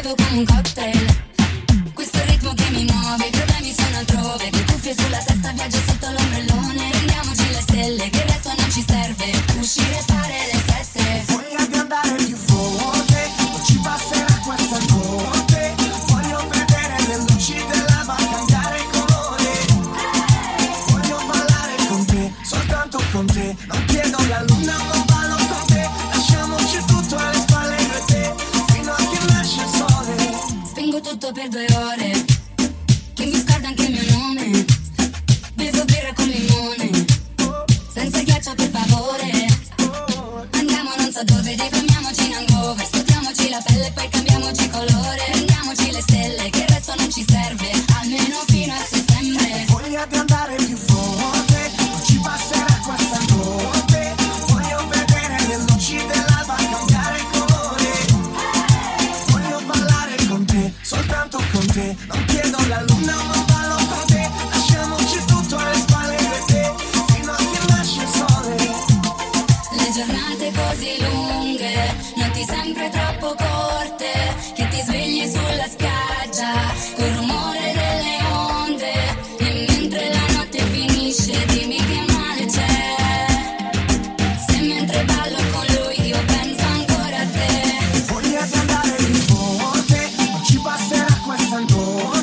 bevo come un cocktail. Questo ritmo che mi muove, i problemi sono altrove. Le cuffie sulla testa, viaggio sotto l'ombrellone. Prendiamoci le stelle, che il resto non ci serve. Uscire e fare le sette. Voglia di andare più forte, non ci basterà questa notte. Voglio vedere le luci dell'alba cambiare colore. Voglio ballare con te, soltanto con te. Non chiedo la luna, ma ballo con te. Lasciamoci tutto alle spalle io e te, fino a che nasce il sole. Spengo tutto per 2 ore, che mi scorda anche il mio nome. Bevo birra con limone, senza ghiaccio per favore. Andiamo non so dove, deprimiamoci in hangover. Scotiamoci la pelle e poi cambiamoci colore. Prendiamoci le stelle, che il resto non ci serve, almeno fino a settembre. Voglia di andare più forte, non ci basterà questa notte. Voglio vedere le luci dell'alba cambiare colore. Voglio ballare con te, soltanto con te. Non chiedo la luna, ma ballo con te. Lasciamoci tutto alle spalle io e te, fino a che nasce il sole. Le giornate così lunghe, notti sempre troppo corte, che ti svegli sulla spiaggia col rumore delle onde. E mentre la notte finisce, dimmi che male c'è, se mentre ballo con lui io penso ancora a te. Voglia di andare più forte, non ci basterà questa notte.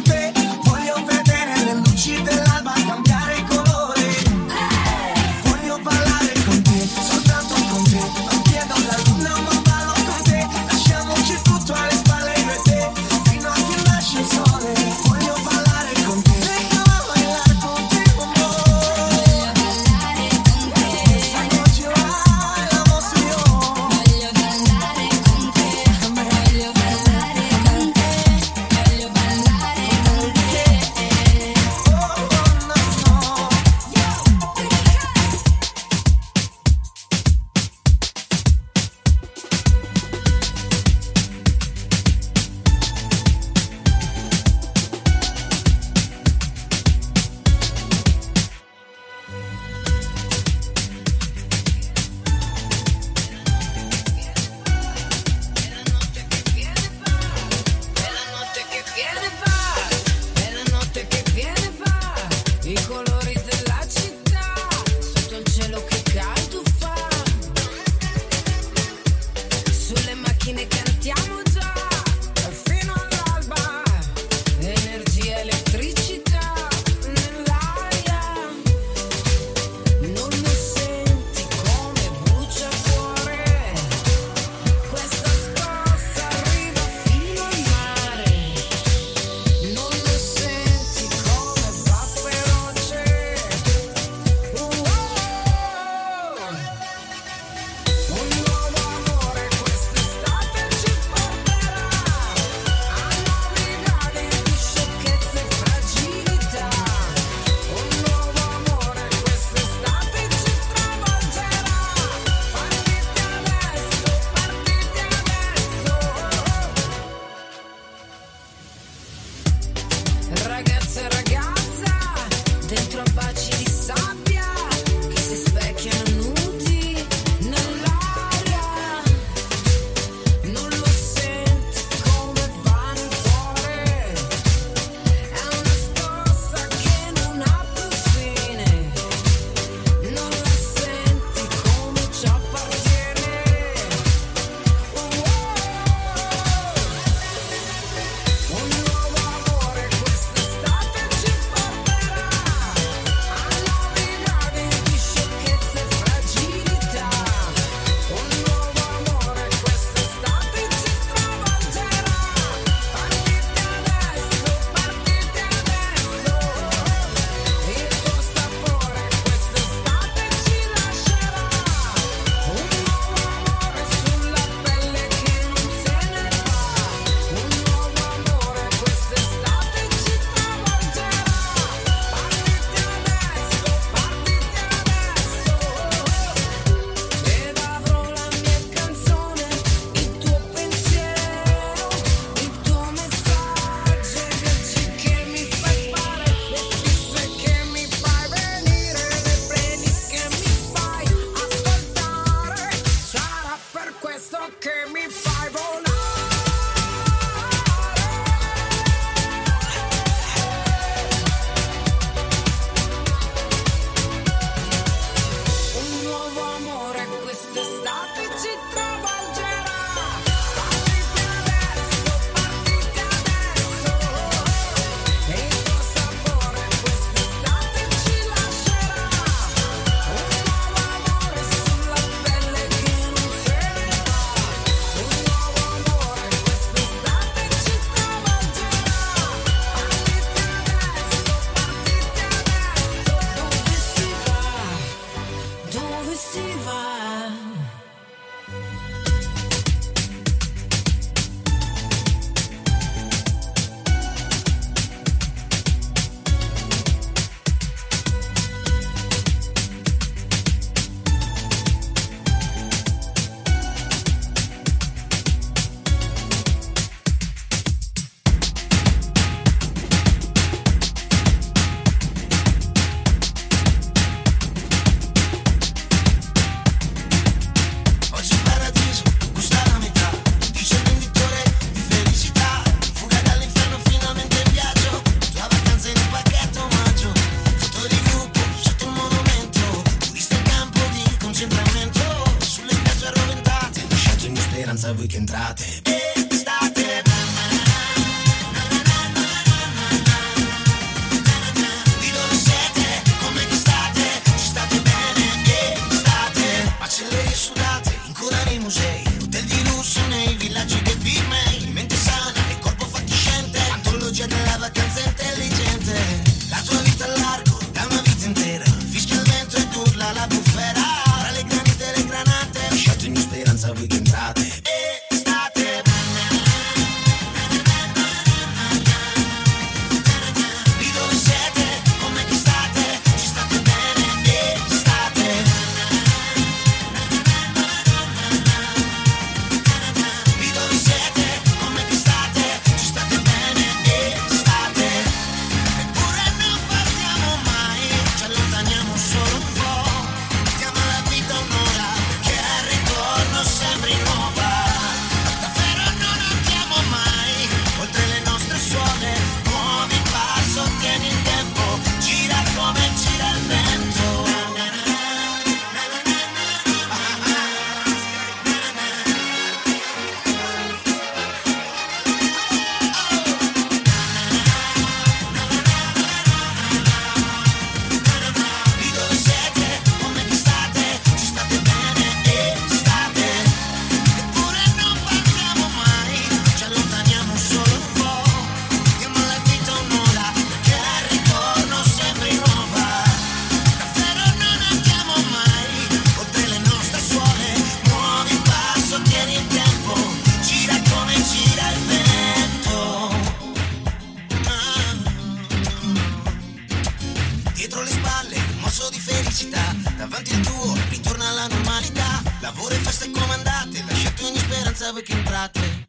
sabe que entrate.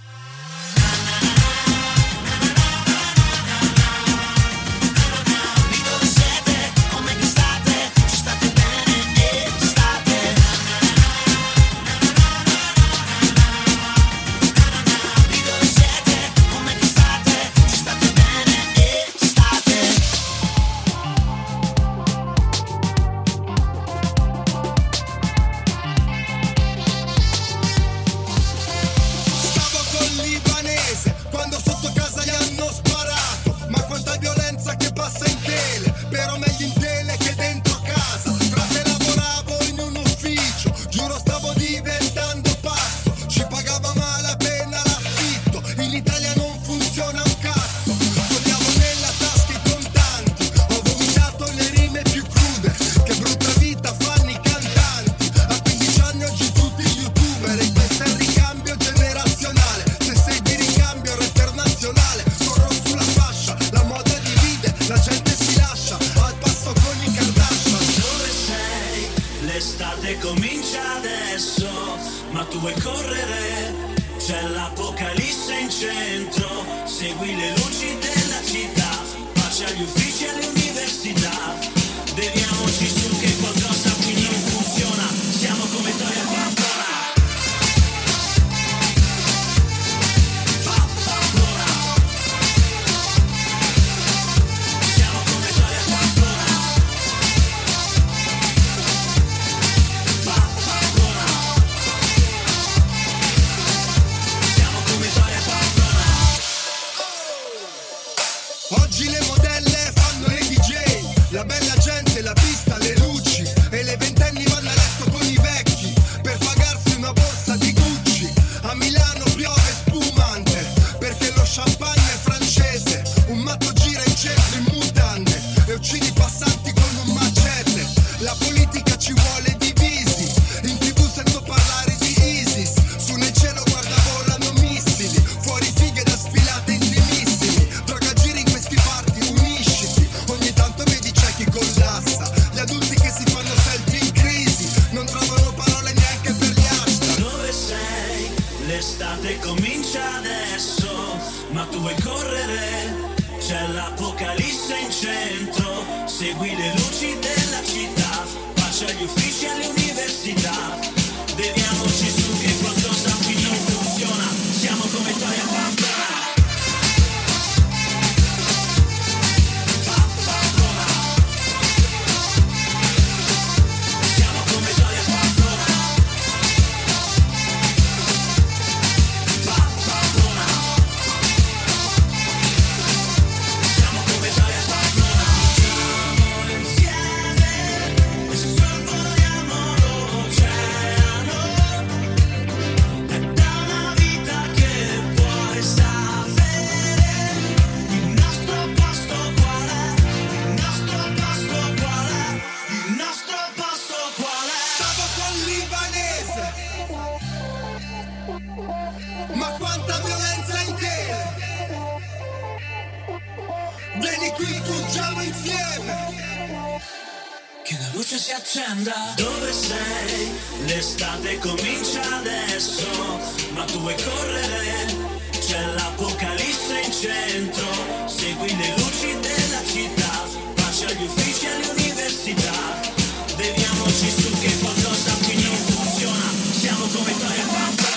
Dove sei? L'estate comincia adesso, ma tu vuoi correre? C'è l'apocalisse in centro, segui le luci della città, pace agli uffici e alle università, beviamoci su che qualcosa qui non funziona, siamo come Toy e Pandora.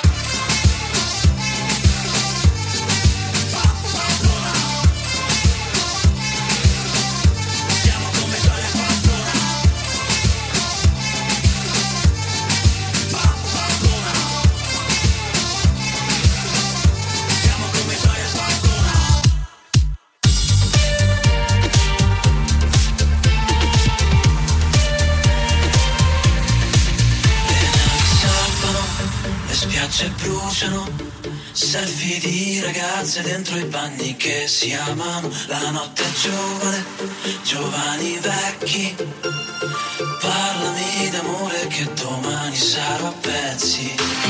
Selfie di ragazze dentro i bagni che si amano. La notte è giovane, giovani vecchi. Parlami d'amore che domani sarò a pezzi.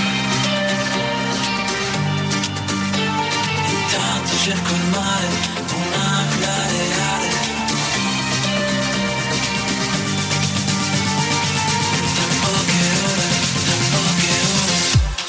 Intanto cerco il mare, un'aquila reale. Da poche ore, sotto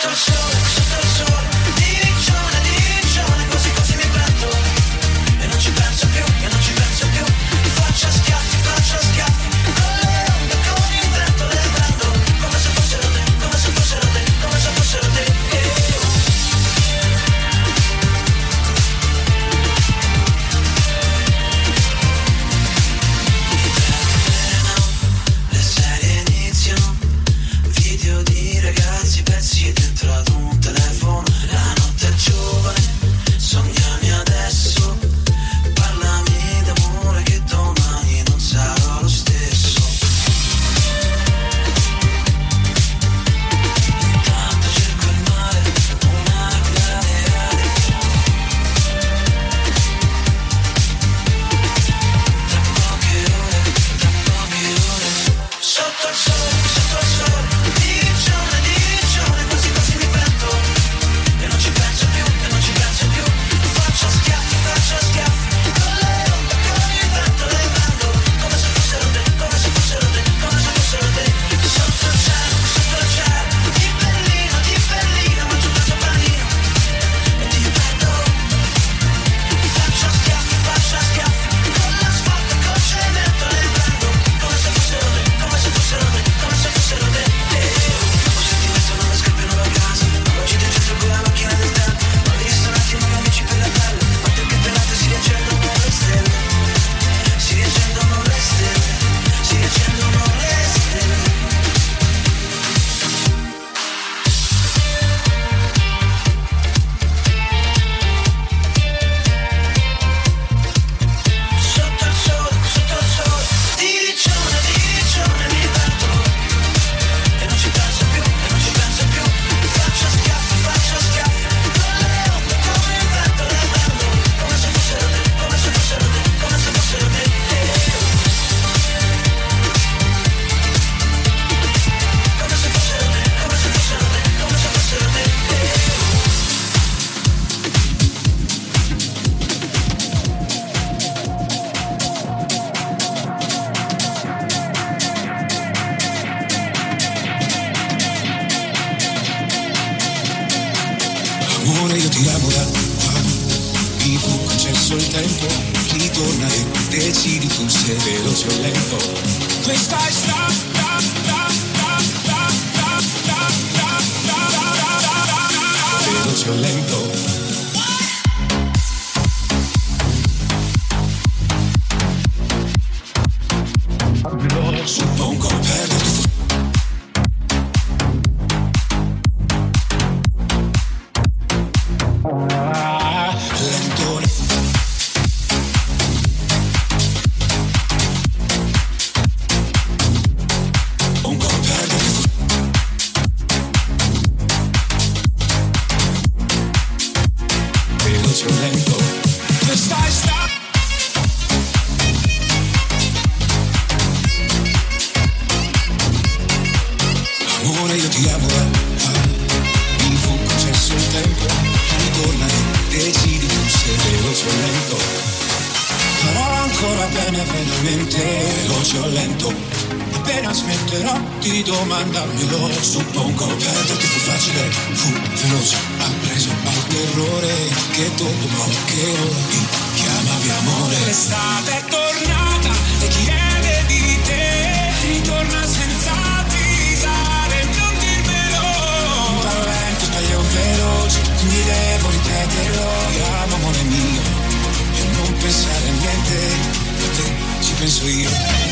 Amore, io ti amo da qua, vivo, concesso il tempo, ritorna e decidi tu se veloce o lento. Questa è veloce o lento. Suppongo perderti. Di domandarmelo, suppongo perderti fu facile, fu veloce, ha preso al terrore che dopo qualche ora mi chiamavi amore. L'estate è tornata e chiede di te, ritorna senza avvisare, non dirmelo. Talento sbaglio veloce, quindi devo ripeterlo, ti amo amore mio, e non pensare a niente, a te ci penso io.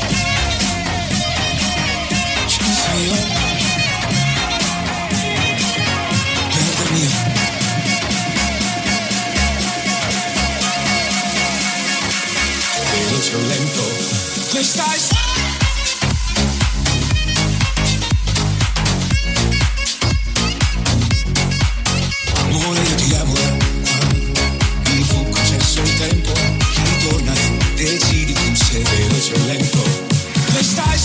Perdermi veloce o lento. Questa è amore, io ti amo da qua, mi fu concesso il tempo, ritorna e decidi tu se veloce o lento. Questa è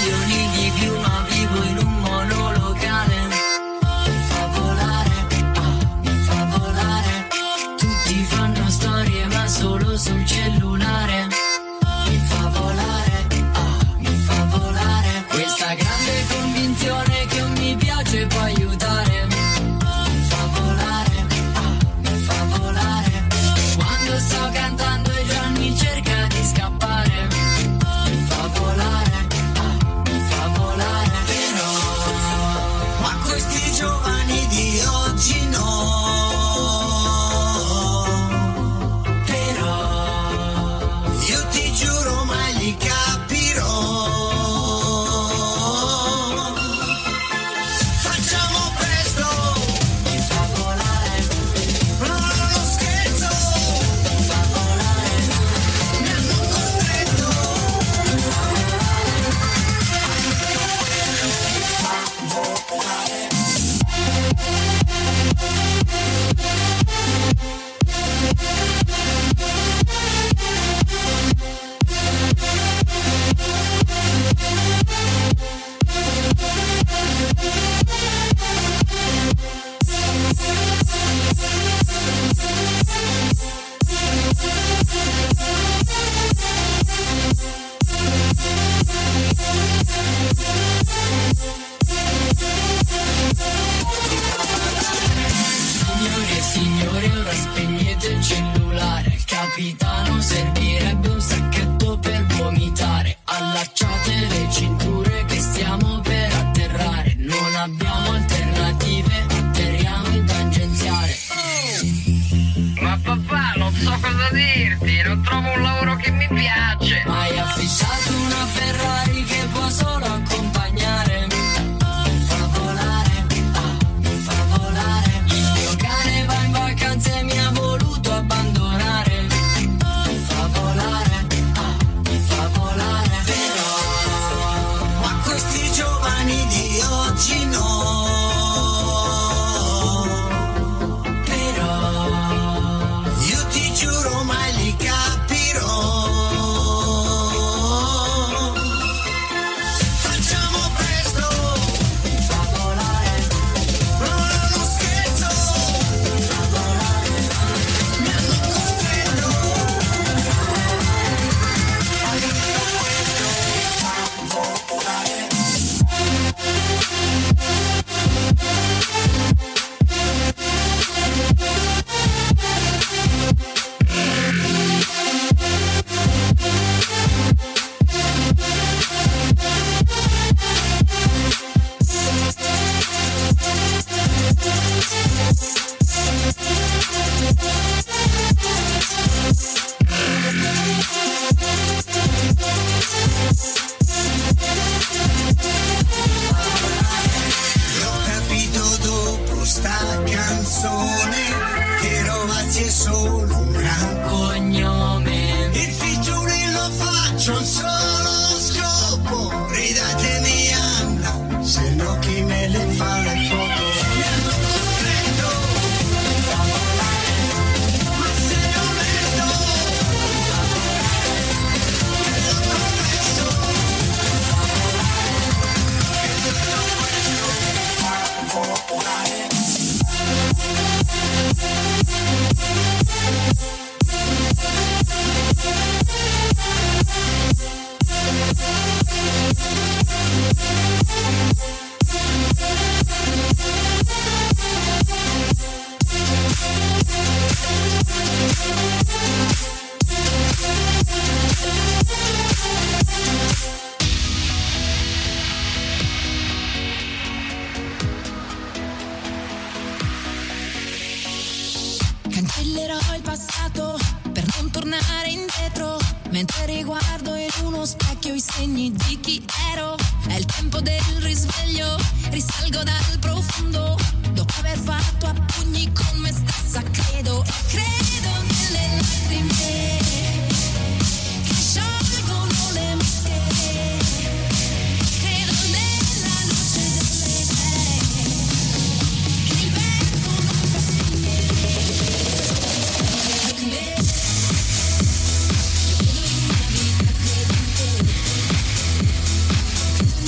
milioni di più, ma vivo in un monolocale. Mi fa volare, mi fa volare. Tutti fanno storie ma solo sul cellulare. Mi fa volare, mi fa volare. Questa grande convinzione che non mi piace può aiutare. Mi fa volare, mi fa volare. Quando sto cantando e già mi cerca di scappare. Mi fa volare, mi fa volare. Però ma questi giovani di oggi no. Signore, ora spegnete il cellulare. Capitano, servirebbe un sacchetto per vomitare. Allacciate le cinture che stiamo per atterrare. Non abbiamo alternative, atterriamo in tangenziale. Ma papà, non so cosa dirti, non trovo un lavoro che mi piace. Hai affissato una Ferrari che può solo accompagnare. Mi fa volare, mi fa volare. Il mio cane va in vacanza e mi ha voluto abbandonare. Mi fa volare, mi fa volare. Però ma questi giovani di oggi no. Cancellerò il passato per non tornare indietro, mentre riguardo in uno specchio i segni di chi ero. È il tempo del risveglio, risalgo dal profondo, dopo aver fatto a pugni con me stessa. Credo nelle lacrime che sciolgono le maschere, credo nella luce delle idee che il vento non può spegnere. Credo in una vita credente,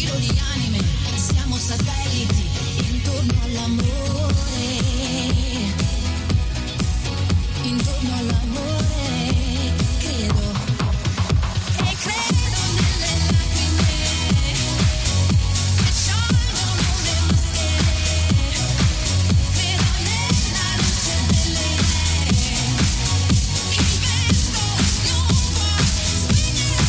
mondo di anime, siamo satelliti intorno all'amore, intorno all'amore, credo. E credo nelle lacrime che sciolgono le maschere, credo nella luce delle idee che il vento non può spegnere.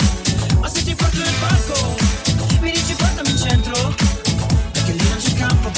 Ma se ti porto nel parco, mi dici portami in centro, perché lì non c'è campo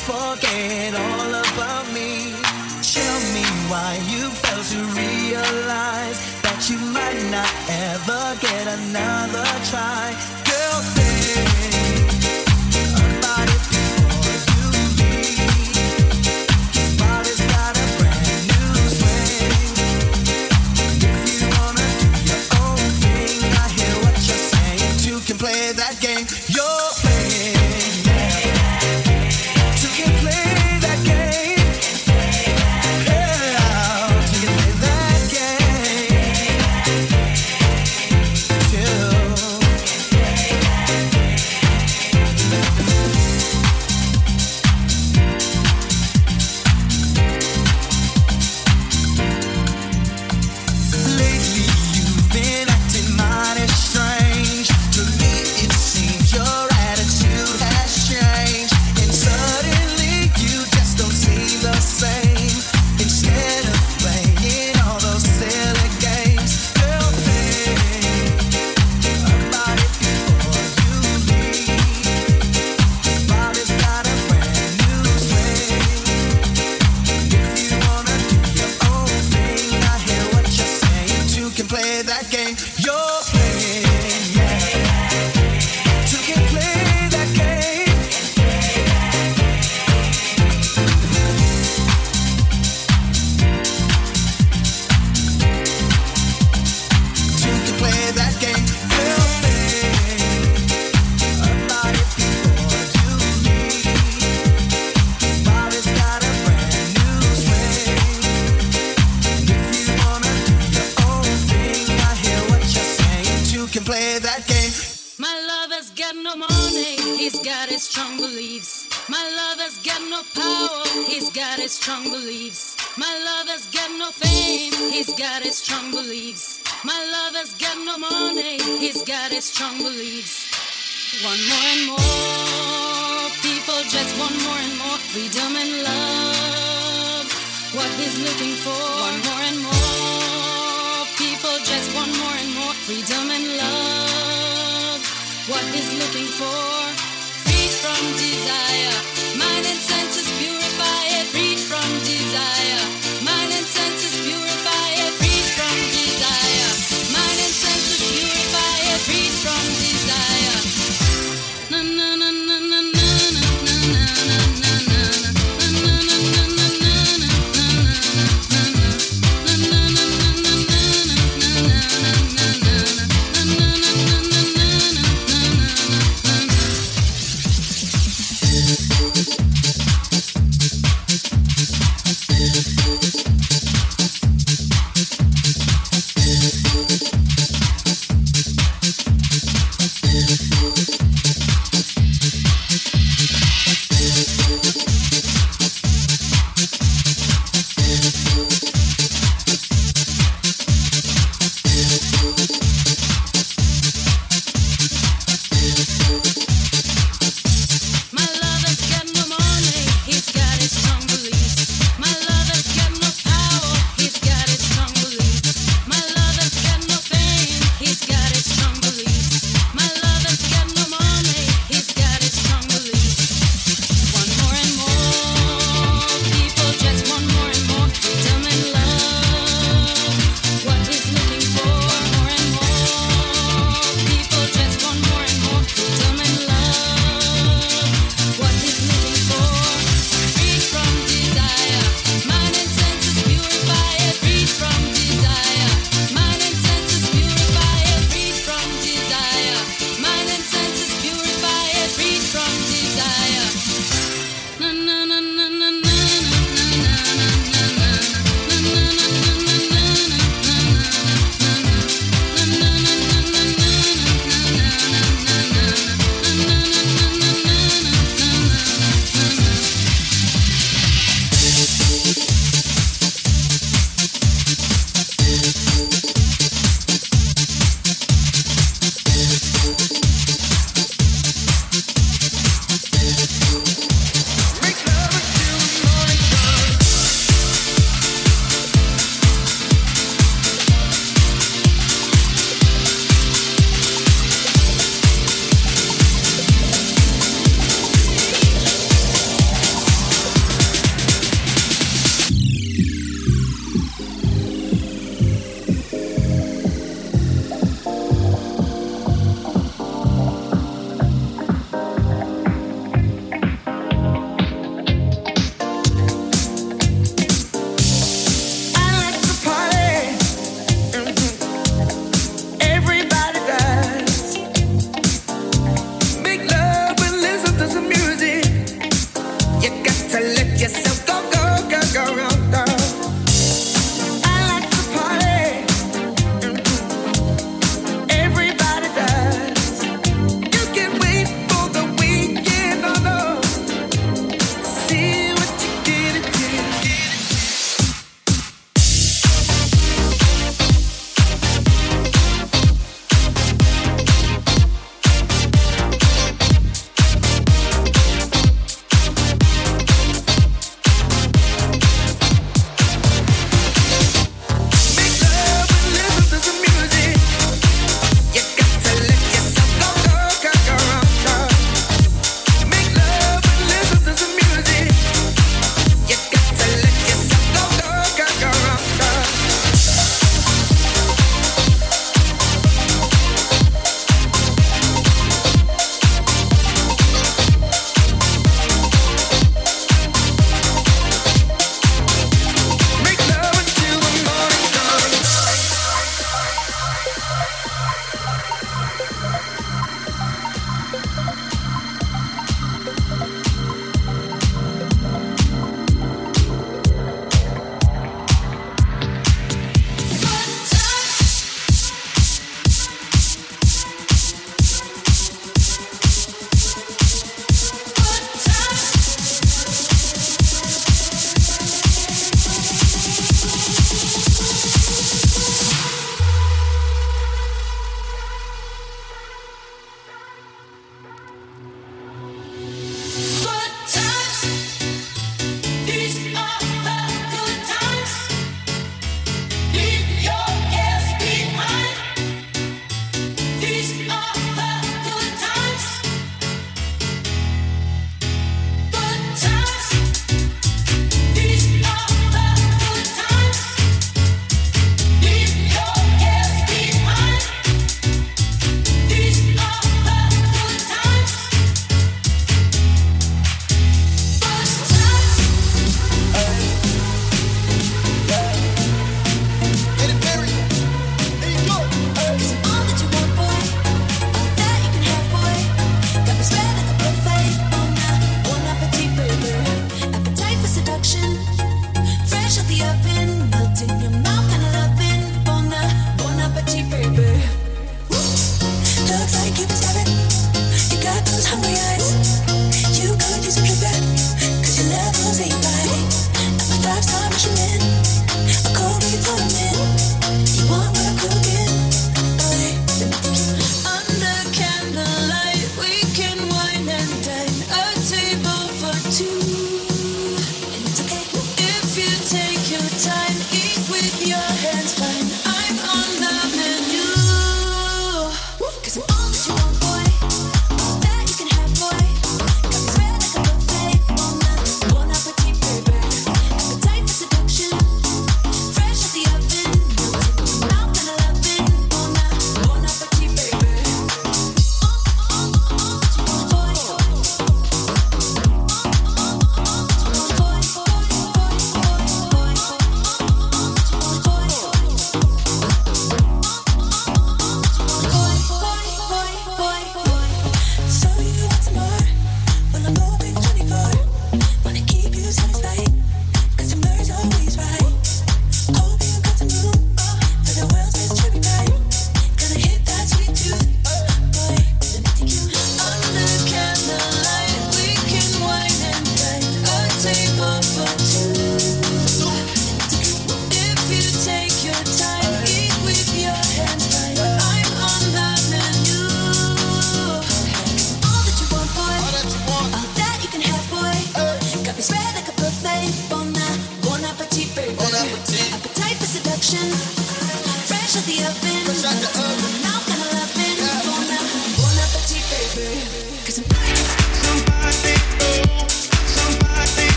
just forget all about me. Tell me why you fail to realize that you might not ever get another try. Girl, think about it before you leave. His body's got a brand new swing. If you wanna do your own thing, I hear what you're saying. Two can play that game you're playing, yeah. Two can play that game.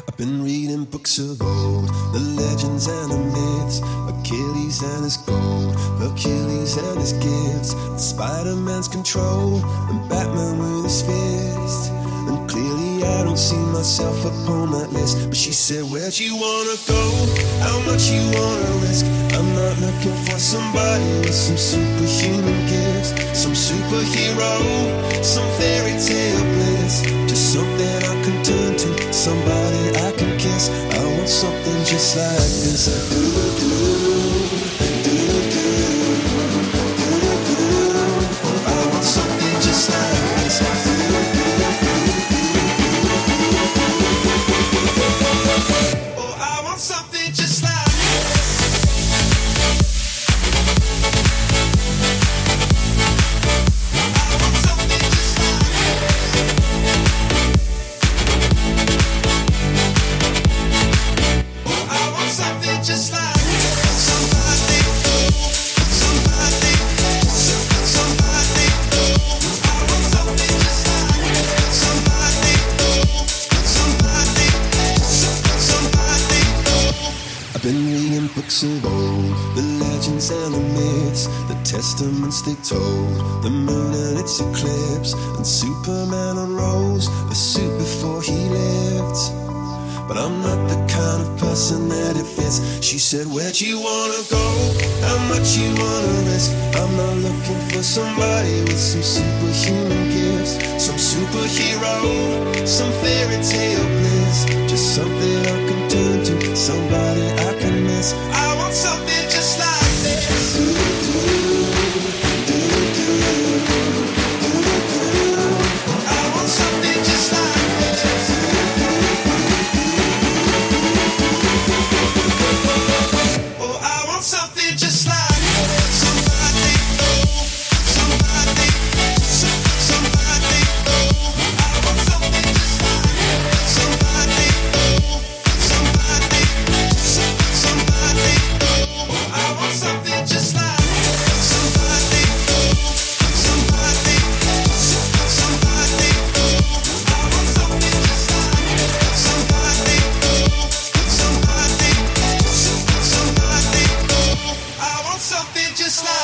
I've been reading books of old, the legends and the myths, Achilles and his gold, Hercules and his gifts, Spider-Man's control, and Batman with his fist. And clearly I don't see myself upon that list. But she said, where'd you wanna go? How much you wanna risk? I'm not looking for somebody with some superhuman gifts, some superhero, some fairy tale bliss. Just something I can turn to, somebody I can kiss. I want something just like this. I want something just like this. Oh, I want something just like just like somebody, somebody, somebody. I want something just like somebody, somebody, somebody. I've been reading books of old, the legends and the myths, the testaments they told, the moon and its eclipse, and Superman unrolls a suit before he lived. But I'm not the kind of person that it fits. She said, where'd you wanna go? How much you wanna risk? I'm not looking for somebody with some superhuman gifts, some superhero, some fairy tale bliss. Just something I can turn to, somebody I can miss. I want something just like this. I want something just like this. Something just like somebody, somebody, somebody. I want something just like somebody, somebody, somebody. I want something just like somebody, somebody, somebody. I want something just like somebody, somebody, somebody. I want something just like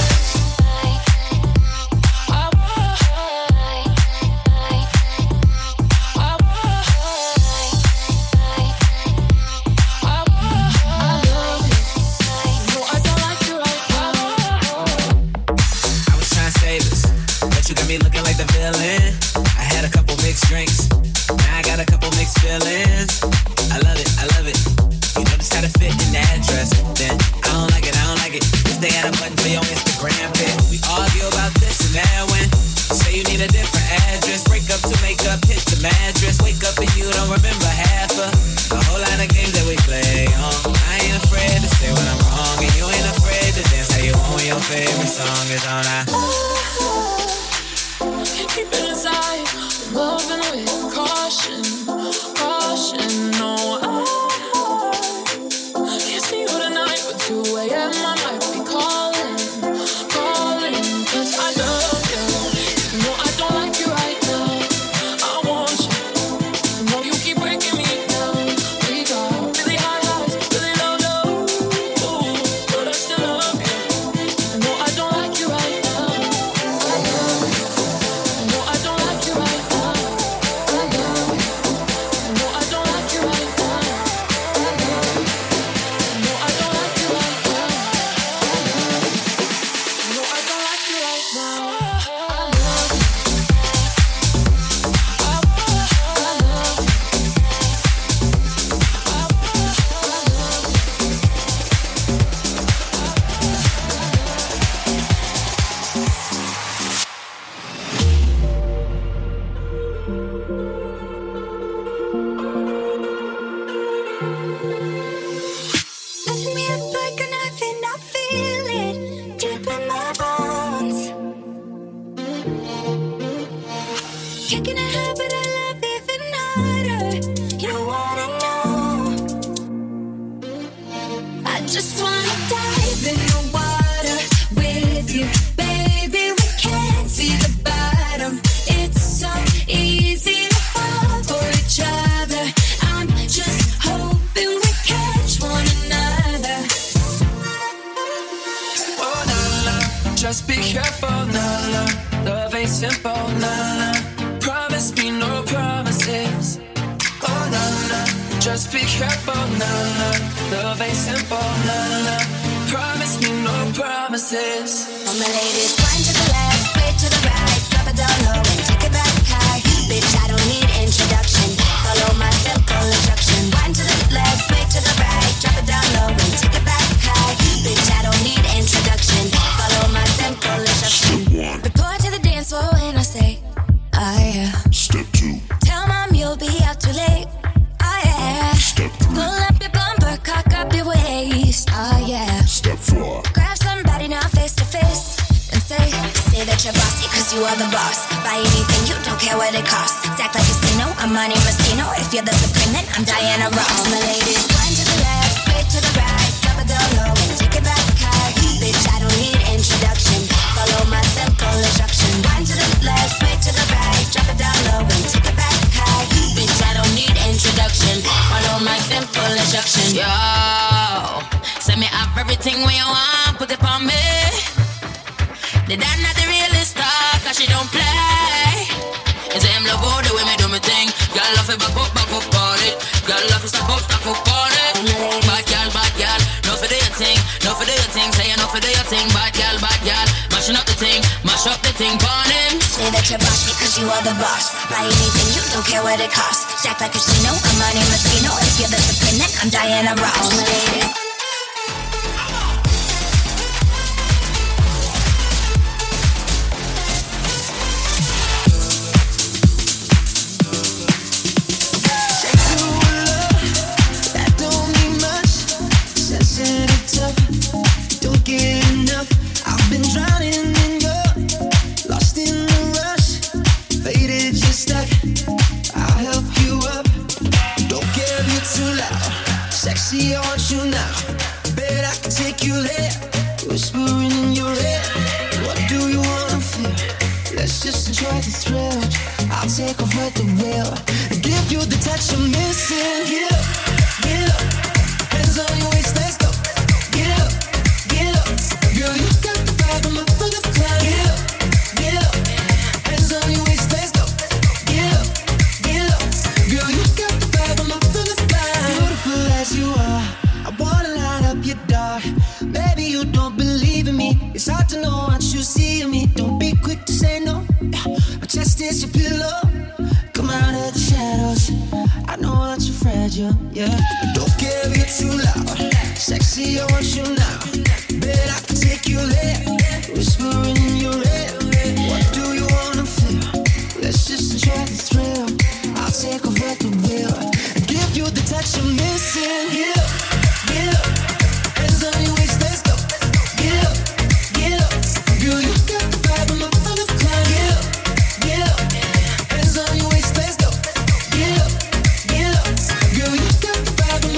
looking like the villain. I had a couple mixed drinks, now I got a couple mixed feelings. I love it, I love it. You notice how to fit in that dress. Then I don't like it, I don't like it. Cause they had a button for your Instagram pic. We argue about this and that when say you need a different address. Break up to make up, hit the mattress. Wake up and you don't remember half of the whole lot of games that we play. I ain't afraid to say when I'm wrong, and you ain't afraid to dance how you want when your favorite song is on. Keep it inside, loving with caution, caution. No, I can't see you tonight, but 2 a.m. I might be calling, calling, 'cause I love you. You know I don't like you right now. I want you. You know you keep breaking me down. We got really high highs, really low lows, but I still love you. You know I don't like you right now. I love you. No, I don't like you right now. I love you. No, I don't like you right now. I love you. No, I don't like you right now. I love you. No, I don't like you right now. I love you. I love you. Cutting me up like a knife and I feel it deep in my bones. Kicking a habit I love even harder. You wanna know? I just wanna dive in the water with you, baby. We can't see the bottom. It's so easy to fall for each other. I'm just ain't simple, nah. Promise me no promises. Oh, nah. Just be careful, nah. Love ain't simple, nah. Promise me no promises. All my ladies, wind to the left, sway to the right, drop it down low and take it back high. Bitch, I don't need introduction. Follow my simple instruction. Wind to the left, sway to the right, drop it down low and take it back high. Bitch, I don't need introduction. Follow my simple instruction. Report to the dance floor when I say, oh yeah. Step 2. Tell mom you'll be out too late. Oh yeah. Step 3. Pull up your bumper, cock up your waist. Oh yeah. Step 4. Grab somebody now face to face and say that you're bossy cause you are the boss. Buy anything, you don't care what it costs. Act like a casino, I'm Monte Moschino. If you're the supreme, then I'm Diana Ross. All my ladies, one to the left, straight to the right, drop it down low and take it back high. Bitch, I don't need introduction. Follow my simple instruction. One to the left, straight to the right, drop it down low and take it back high. Bitch, I don't need introduction. Follow my simple instruction. Yo, send me up everything when you want, put it on me. The dad not the realest star, cause she don't play. It's him love all the way me do me thing. Girl love it back up on it. Girl love it stop up on it. Bad girl, no for do your thing, no for do your thing. Say no for do your thing, bad girl, mashing up the thing, mash up the thing, burn him. Say that you're bossy cause you are the boss. Buy anything, you don't care what it costs. Act like a casino, I'm Monte Moschino. If you're the supreme, then I'm Diana Ross. All my ladies. I want you now. Bet I can take you there. Whispering in your ear. What do you wanna feel? Let's just enjoy the thrill. I'll take over the wheel and give you the touch you're missing. Get up, get up. Hands on your waist, let's go. Get up, get up. Girl, you got the vibe, I'm up for the climb. Get up, get up. Hands on your waist, let's go. Get up, get up. Girl, you got the vibe, I'm up for the climb. Beautiful as you are, I wanna light up your dark. Maybe you don't believe in me. It's hard to know what you see in me. Don't be quick to say no. My chest is your pillow. Come out of the shadows. I know that you're fragile, yeah. Don't care if you're too loud. Sexy, I want you now. Bet I can take you there. Whispering in your ear. What do you wanna feel? Let's just enjoy the thrill. I'll take over the wheel and give you the touch you're missing. Get up, get up. Hands on your waist, let's go. Get up, get up. Girl, you got the vibe, I'm up for the climb. Get up, get up. Hands on your waist, let's go. Get up, get up. Girl, you got the vibe, I'm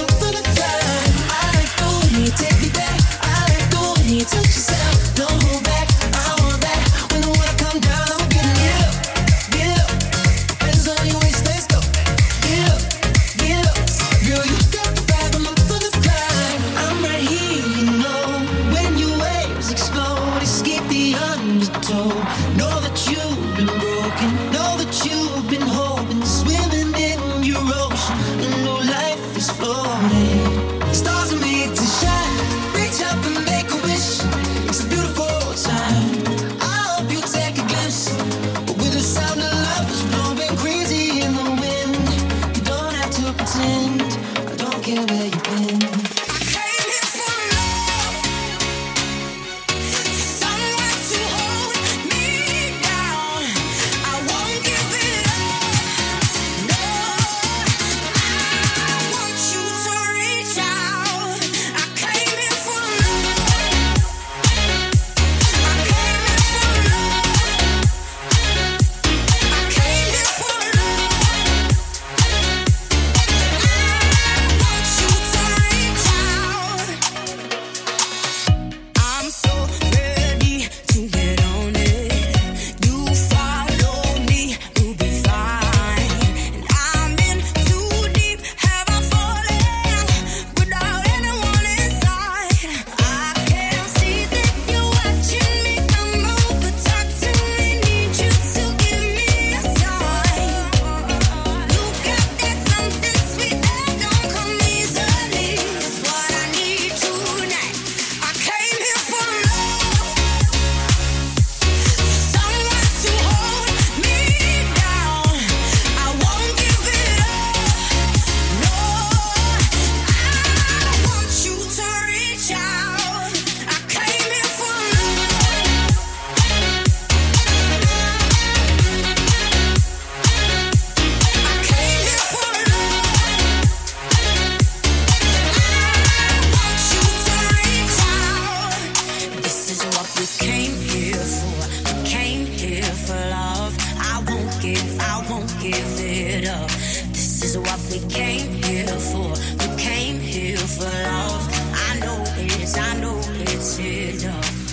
give it up. This is what we came here for. We came here for love. I know it's enough.